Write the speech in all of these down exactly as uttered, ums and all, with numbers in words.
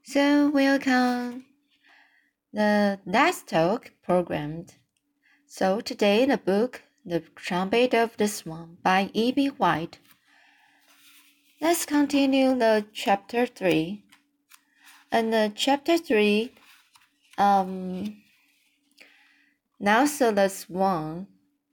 So welcome the Last Talk programmed. So today the book The Trumpet of the Swan by E B. White. Let's continue the chapter three. And the chapter three, um, now so the swan,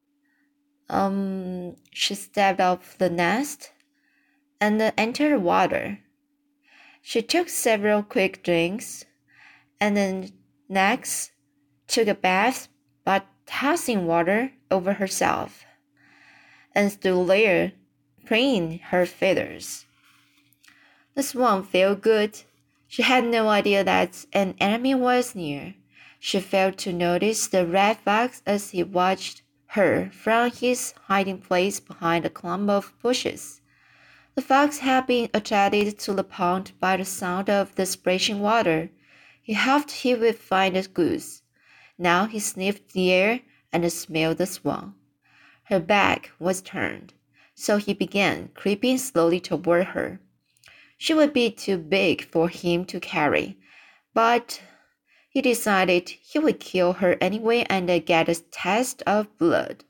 um, she stepped off the nest and entered the water. She took several quick drinks, and then next took a bath, but tossing water over herself, and stood there, preening her feathers. The swan felt good. She had no idea that an enemy was near. She failed to notice the red fox as he watched her from his hiding place behind a clump of bushes. The fox had been attracted to the pond by the sound of the splashing water. He hoped he would find a goose. Now he sniffed the air and smelled the swan. Her back was turned, so he began creeping slowly toward her. She would be too big for him to carry, but he decided he would kill her anyway and get a taste of blood.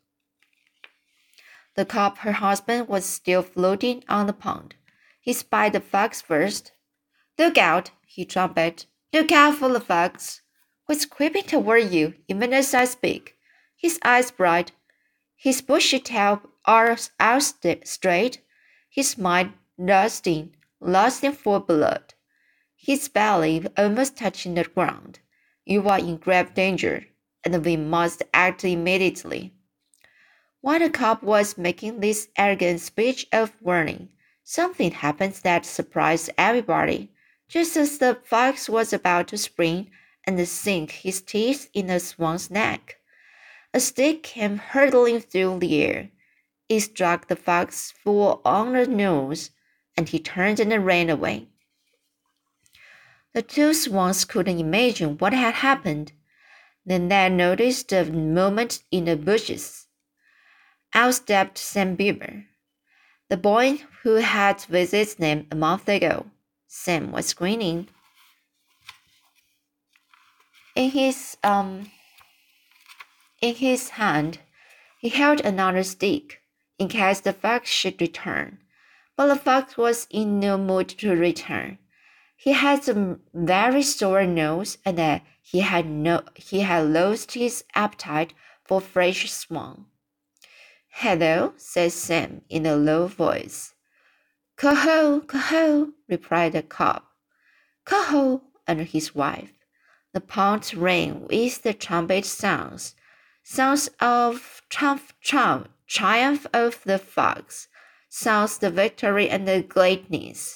The cob, her husband, was still floating on the pond. He spied the fox first. "Look out!" he trumpeted. "Look out for the fox, who's creeping toward you even as I speak." His eyes bright, his bushy tail out straight, his mind lusting, lusting for blood, his belly almost touching the ground. "You are in grave danger, and we must act immediately." While the cob was making this arrogant speech of warning, something happened that surprised everybody. Just as the fox was about to spring and sink his teeth in the swan's neck, a stick came hurtling through the air. It struck the fox full on the nose, and he turned and ran away. The two swans couldn't imagine what had happened. Then they noticed a movement in the bushes. Out stepped Sam Beaver, the boy who had visited them a month ago. Sam was grinning. In his um in his hand, he held another stick in case the fox should return. But the fox was in no mood to return. He had a very sore nose, and uh, he had no he had lost his appetite for fresh swan. "Hello," said Sam in a low voice. "Coho, coho," replied the cob. "Coho," and his wife. The pond rang with the trumpet sounds, sounds of triumph, triumph, triumph of the fox, sounds of victory and the gladness.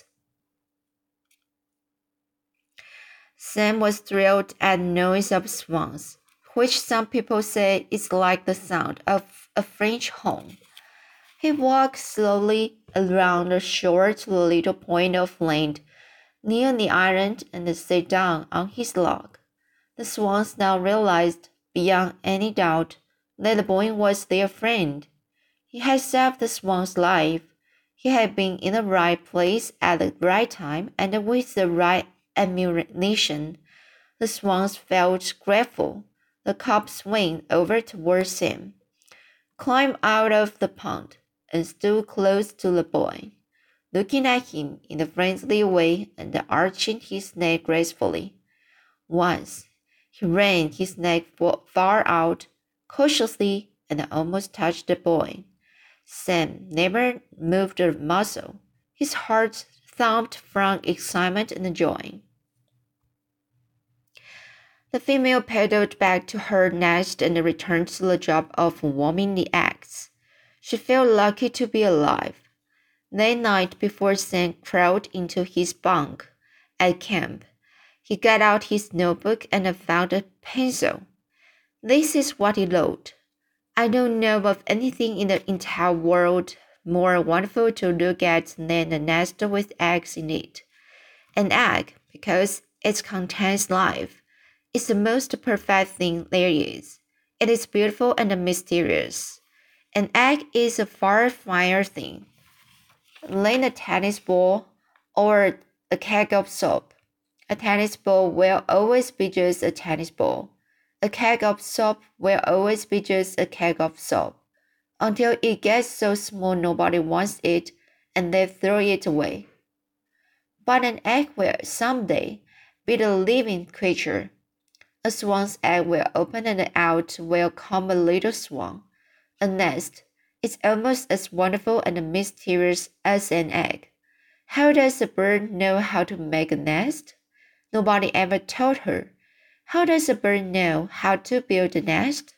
Sam was thrilled at the noise of swans, which some people say is like the sound of a French horn. He walked slowly around the shore to the little point of land near the island and sat down on his log. The swans now realized, beyond any doubt, that the boy was their friend. He had saved the swan's life. He had been in the right place at the right time and with the right ammunition. The swans felt grateful. The cob swam over towards him, climbed out of the pond, and stood close to the boy, looking at him in a friendly way and arching his neck gracefully. Once he ran his neck far out, cautiously, and almost touched the boy. Sam never moved a muscle. His heart thumped from excitement and joy. The female paddled back to her nest and returned to the job of warming the eggs. She felt lucky to be alive. That night, before Sam crawled into his bunk at camp, he got out his notebook and found a pencil. This is what he wrote. "I don't know of anything in the entire world more wonderful to look at than a nest with eggs in it. An egg, because it contains life, is the most perfect thing there is. It is beautiful and mysterious. An egg is a far finer thing than a tennis ball or a keg of soap. A tennis ball will always be just a tennis ball. A keg of soap will always be just a keg of soap, until it gets so small nobody wants it and they throw it away. But an egg will someday be the living creature. A swan's egg will open and out will come a little swan. A nest is almost as wonderful and mysterious as an egg. How does a bird know how to make a nest? Nobody ever told her. How does a bird know how to build a nest?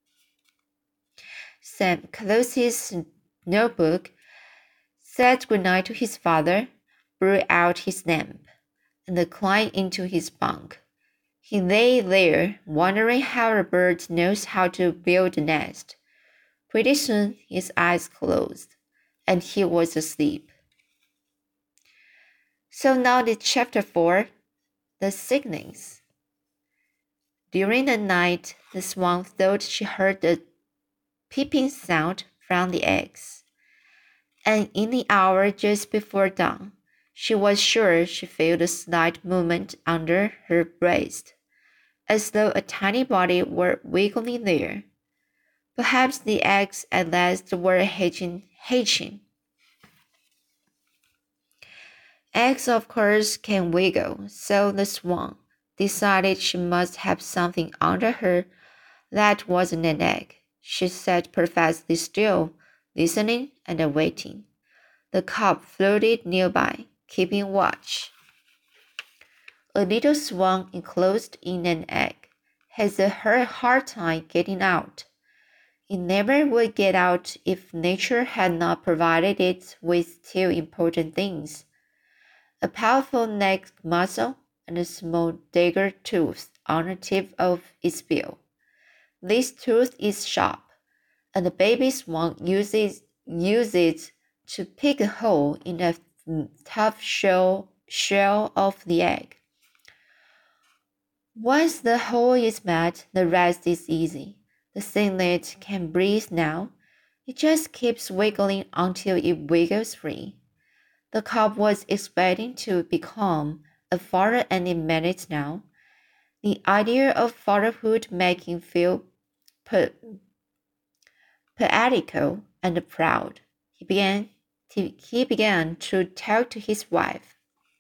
Sam closed his notebook, said goodnight to his father, blew out his lamp, and climbed into his bunk. He lay there, wondering how a bird knows how to build a nest. Pretty soon his eyes closed, and he was asleep. So now the chapter four, the signings. During the night, the swan thought she heard the peeping sound from the eggs, and in the hour just before dawn, she was sure she felt a slight movement under her breast, as though a tiny body were wiggling there. Perhaps the eggs at last were hatching. hatching. Eggs, of course, can wiggle, so the swan decided she must have something under her that wasn't an egg. She sat perfectly still, listening and waiting. The cub floated nearby, keeping watch. A little swan enclosed in an egg has a hard time getting out. It never would get out if nature had not provided it with two important things: a powerful neck muscle and a small dagger tooth on the tip of its bill. This tooth is sharp, and the baby swan uses, uses it to pick a hole in the tough shell, shell of the egg. Once the hole is made, the rest is easy. The singlet can breathe now. It just keeps wiggling until it wiggles free. The cub was expecting to become a father any minute now. The idea of fatherhood made him feel poetical and proud. He began, to, he began to talk to his wife.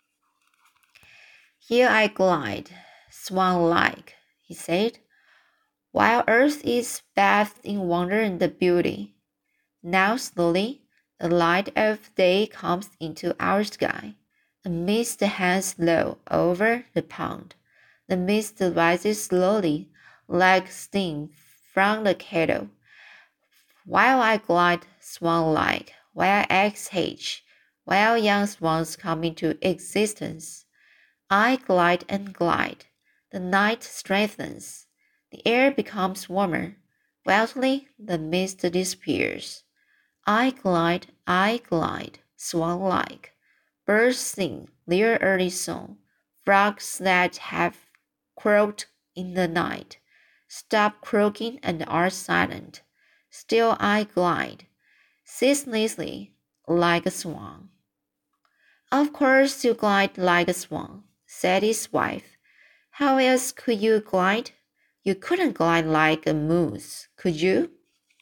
Here I glide, swan-like, he said, while earth is bathed in wonder and beauty. Now slowly, the light of day comes into our sky. A mist hangs low over the pond. The mist rises slowly, like steam from the kettle. While I glide swan-like, while eggs hatch, while young swans come into existence, I glide and glide. The night strengthens. The air becomes warmer. Wildly, the mist disappears. I glide, I glide, swan-like. Birds sing their early song. Frogs that have croaked in the night stop croaking and are silent. Still I glide, ceaselessly, like a swan. Of course you glide like a swan, said his wife. How else could you glide? You couldn't glide like a moose, could you?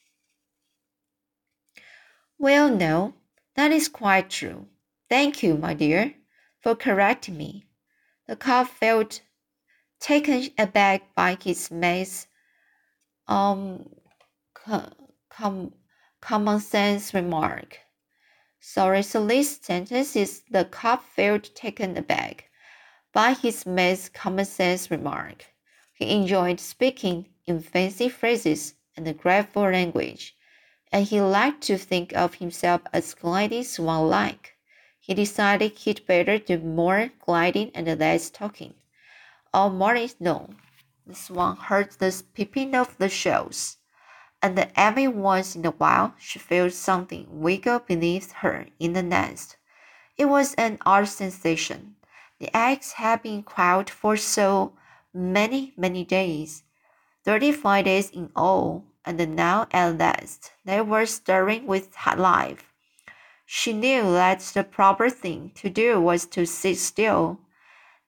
Well, no, that is quite true. Thank you, my dear, for correcting me. The cub felt taken aback by his mate's um, com, common sense remark. Sorry, so this sentence is the cub felt taken aback by his mate's common sense remark. He enjoyed speaking in fancy phrases and graceful language, and he liked to think of himself as gliding swan-like. He decided he'd better do more gliding and less talking. All morning long, the swan heard the peeping of the shells, and every once in a while she felt something wiggle beneath her in the nest. It was an odd sensation. The eggs had been quiet for so many, many days, thirty-five days in all, and now at last they were stirring with life. She knew that the proper thing to do was to sit still.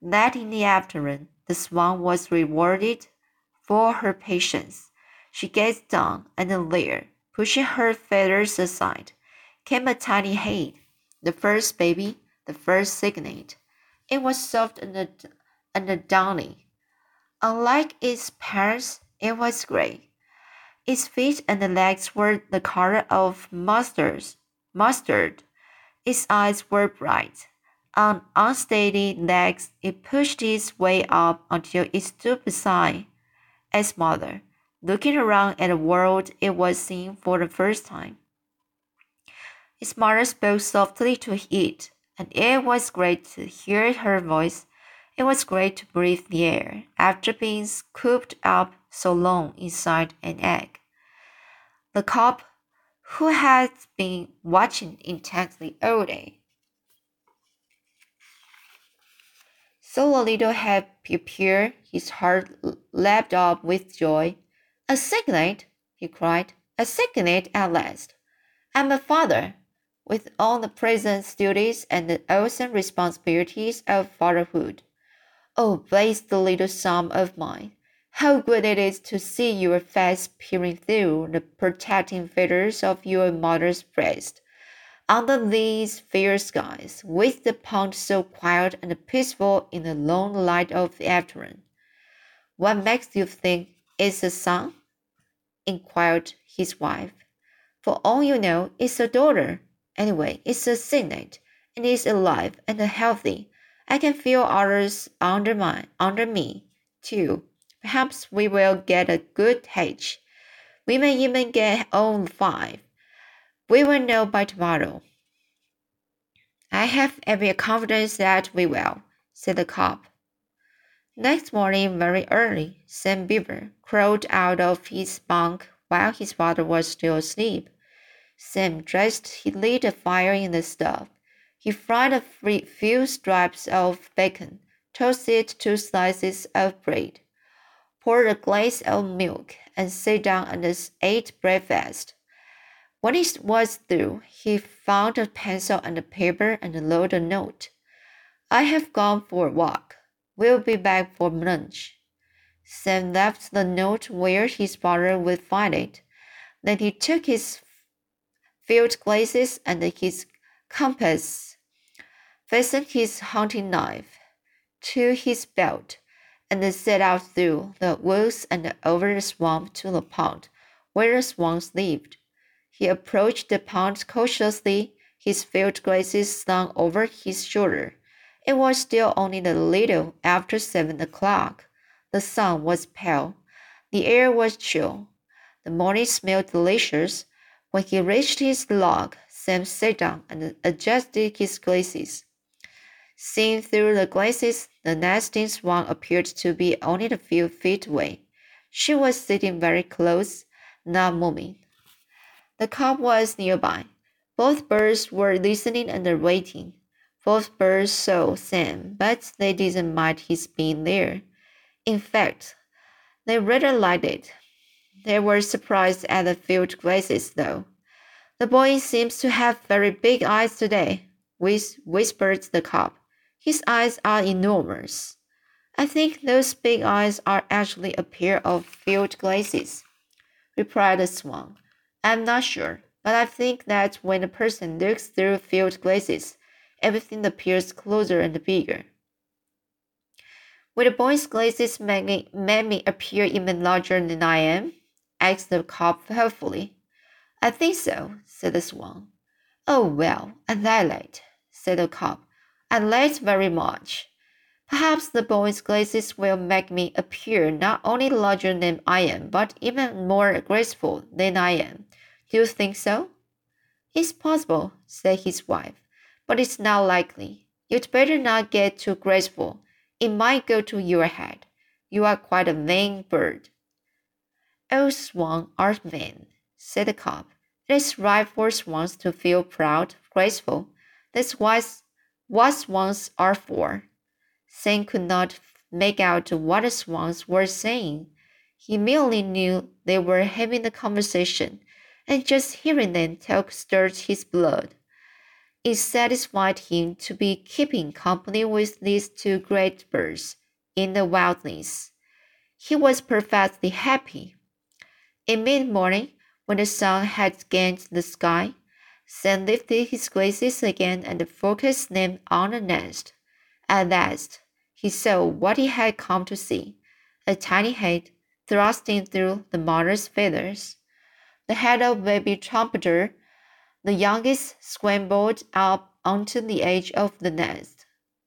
That in the afternoon, the swan was rewarded for her patience. She gazed down, and there, pushing her feathers aside, came a tiny head, the first baby, the first cygnet. It was soft and, and downy. Unlike its parents, it was gray. Its feet and legs were the color of mustard. mustard. Its eyes were bright. On unsteady legs, it pushed its way up until it stood beside its mother, looking around at the world it was seeing for the first time. Its mother spoke softly to it, and it was great to hear her voice. It was great to breathe the air after being cooped up so long inside an egg. The cob, who had been watching intently all day, saw a little head appear. His heart leapt up with joy. A cygnet, he cried, a cygnet at last. I'm a father, with all the present duties and the awesome responsibilities of fatherhood. Oh, blessed little son of mine, how good it is to see your face peering through the protecting feathers of your mother's breast, under these fair skies, with the pond so quiet and peaceful in the long light of the afternoon. What makes you think it's a son? Inquired his wife. For all you know, it's a daughter. Anyway, it's a cygnet, and it's alive and healthy. I can feel others under my under me, too. Perhaps we will get a good hatch. We may even get all five. We will know by tomorrow. I have every confidence that we will, said the cob. Next morning, very early, Sam Beaver crawled out of his bunk while his father was still asleep. Sam dressed, he lit a fire in the stove. He fried a few strips of bacon, toasted two slices of bread, poured a glass of milk, and sat down and ate breakfast. When he was through, he found a pencil and a paper and wrote a note. I have gone for a walk. We'll be back for lunch. Sam left the note where his father would find it. Then he took his field glasses and his compass, fastened his hunting knife to his belt, and set out through the woods and over the swamp to the pond where the swans lived. He approached the pond cautiously, his field glasses slung over his shoulder. It was still only a little after seven o'clock. The sun was pale. The air was chill. The morning smelled delicious. When he reached his log, Sam sat down and adjusted his glasses. Seen through the glasses, the nesting swan appeared to be only a few feet away. She was sitting very close, not moving. The cob was nearby. Both birds were listening and waiting. Both birds saw Sam, but they didn't mind his being there. In fact, they rather liked it. They were surprised at the field glasses, though. The boy seems to have very big eyes today, whispered the cob. His eyes are enormous. I think those big eyes are actually a pair of field glasses, replied the swan. I'm not sure, but I think that when a person looks through field glasses, everything appears closer and bigger. Will the boy's glasses make me, make me appear even larger than I am? Asked the cob helpfully. I think so, said the swan. Oh, well, I like, said the cob. I like very much. Perhaps the boy's glasses will make me appear not only larger than I am, but even more graceful than I am. Do you think so? It's possible, said his wife, but it's not likely. You'd better not get too graceful. It might go to your head. You are quite a vain bird. All swans are vain, said the cob. It is right for swans to feel proud, graceful. That's what swans are for. Sam could not make out what the swans were saying. He merely knew they were having a conversation, and just hearing them talk stirred his blood. It satisfied him to be keeping company with these two great birds in the wilderness. He was perfectly happy. In mid-morning, when the sun had gained the sky, Sam lifted his glasses again and focused them on the nest. At last, he saw what he had come to see, a tiny head thrusting through the mother's feathers. The head of baby trumpeter, the youngest, scrambled up onto the edge of the nest.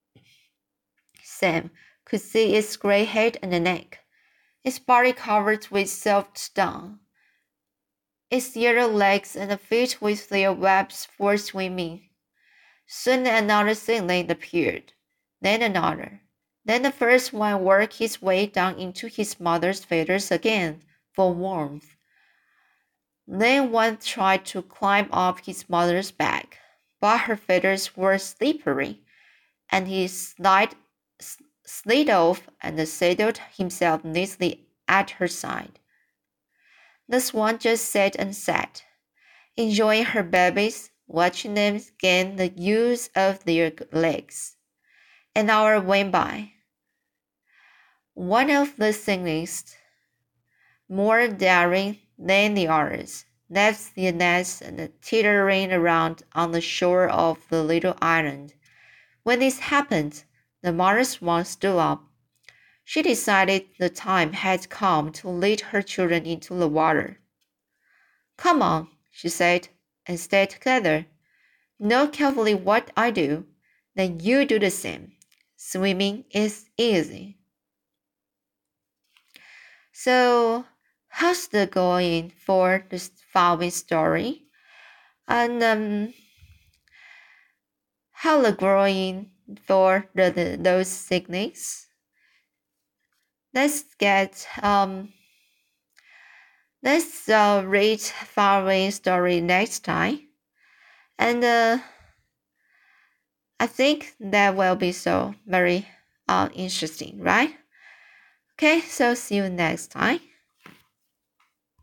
Sam could see its gray head and neck, its body covered with soft down, its yellow legs and feet with their webs for swimming. Soon another seedling appeared, then another. Then the first one worked his way down into his mother's feathers again for warmth. Then one tried to climb up his mother's back, but her feathers were slippery, and he slid, slid off and settled himself neatly at her side. The swan just sat and sat, enjoying her babies, watching them gain the use of their legs. An hour went by. One of the seedlings, more daring than the others, left the nest and teetering around on the shore of the little island. When this happened, the mother swan stood up. She decided the time had come to lead her children into the water. "Come on," she said, "and stay together. Know carefully what I do, then you do the same. Swimming is easy." So, how's the going for the following story? And um, how the growing for the, the those signals? Let's get um. Let's uh, read following story next time, and uh, I think that will be so very uh, interesting, right? Okay, so see you next time.